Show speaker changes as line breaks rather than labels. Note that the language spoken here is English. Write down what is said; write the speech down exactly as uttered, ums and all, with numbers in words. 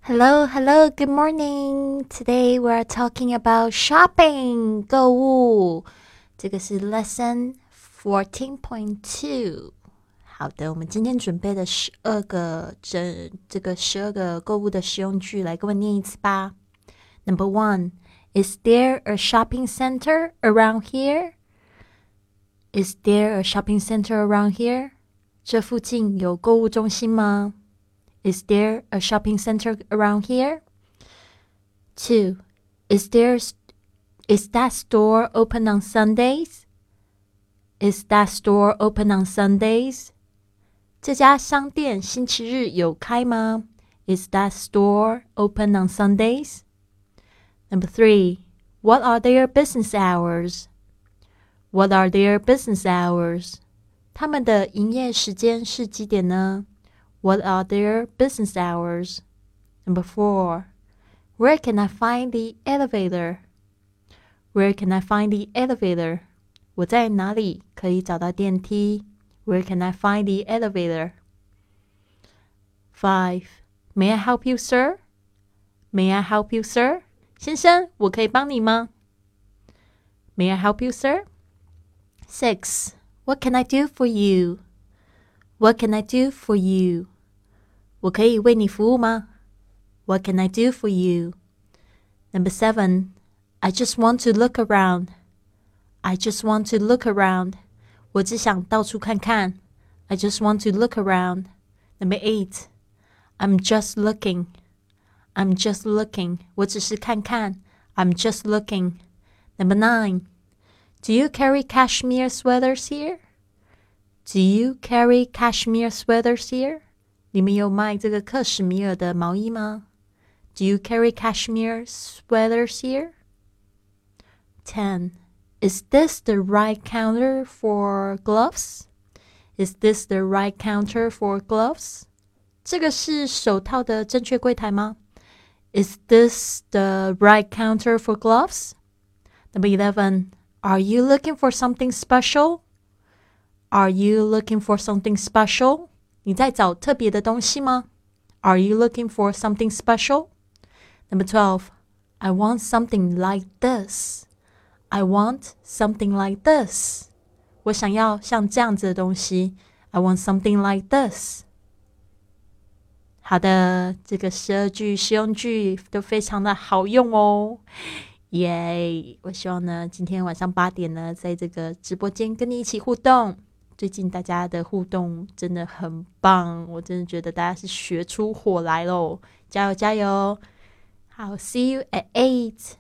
Hello, hello, good morning. Today we're talking about shopping, 购物。这个是 lesson fourteen point two。好的，我们今天准备了十二个这这个十二个购物的实用句，来跟我念一次吧。Number one, is there a shopping center around here? Is there a shopping center around here? 这附近有购物中心吗？Is there a shopping center around here? Two, is there is that store open on Sundays? Is that store open on Sundays? 这家商店星期日有开吗？ Is that store open on Sundays? Number three, what are their business hours? What are their business hours? 他们的营业时间是几点呢？What are their business hours? Number four, where can I find the elevator? Where can I find the elevator? 我在哪里可以找到电梯？ Where can I find the elevator? Five, may I help you, sir? May I help you, sir? 先生，我可以帮你吗？ May I help you, sir? Six, what can I do for you? What can I do for you? 我可以为你服务吗？ What can I do for you? Number seven, I just want to look around. I just want to look around. 我只想到处看看。I just want to look around. Number eight, I'm just looking. I'm just looking. 我只是看看。I'm just looking. Number nine, do you carry cashmere sweaters here?Do you carry cashmere sweaters here? 你们有卖这个克什米尔的毛衣吗？ Do you carry cashmere sweaters here? Ten, is this the right counter for gloves? Is this the right counter for gloves? 这个是手套的正确柜台吗？ Is this the right counter for gloves? Number eleven, are you looking for something special?Are you looking for something special? 你在找特别的东西吗？ Are you looking for something special? Number twelve, I want something like this. I want something like this. 我想要像这样子的东西。I want something like this. 好的，这个十二句实用句都非常的好用哦。耶、yeah, 我希望呢，今天晚上八点呢，在这个直播间跟你一起互动。最近大家的互动真的很棒，我真的觉得大家是学出火来咯，加油加油！好 ，See you at eight.